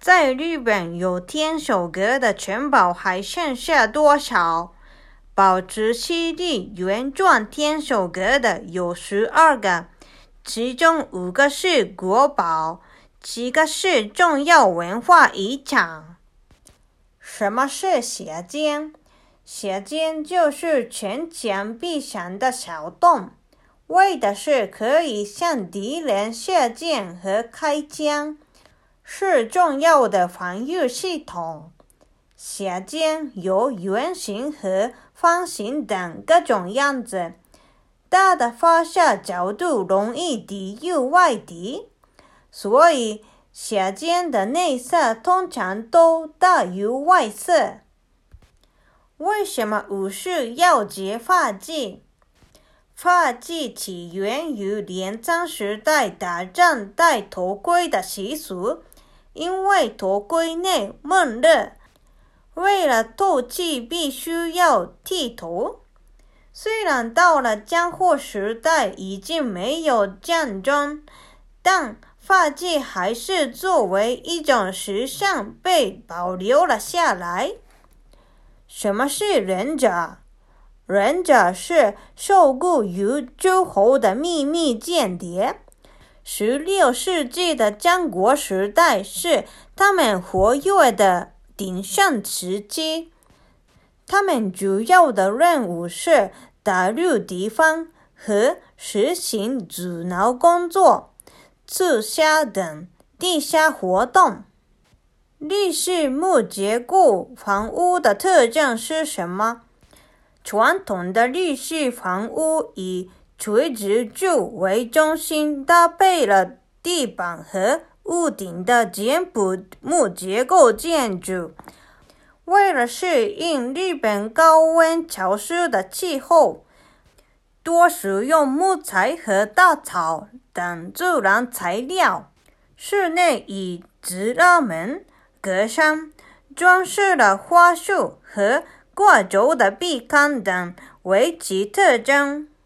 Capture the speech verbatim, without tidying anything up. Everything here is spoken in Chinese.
在日本有天守阁的城堡还剩下多少？保持西历原状天守阁的有十二个，其中五个是国宝，七个是重要文化遗产。什么是斜尖？斜尖就是城墙壁上的小洞，为的是可以向敌人射箭和开枪，是重要的防御系统。斜尖有圆形和方形等各种样子，大的发射角度容易抵御外敌，所以斜尖的内射通常都大于外射。为什么武士要结发髻？发髻起源于镰仓时代打仗戴头盔的习俗，因为头盔内闷热，为了透气必须要剃头。虽然到了江户时代已经没有战争，但发髻还是作为一种时尚被保留了下来。什么是忍者？忍者是受雇于诸侯的秘密间谍。十六世纪的战国时代是他们活跃的鼎盛时期，他们主要的任务是打入敌方和实行阻挠工作、刺杀等地下活动。日式木结构房屋的特征是什么？传统的日式房屋以垂直柱为中心，搭配了地板和屋顶的简朴木结构建筑。为了适应日本高温潮湿的气候，多使用木材和大草等自然材料。室内以直拉门、格栅、装饰了花束和挂轴的壁龛等为其特征。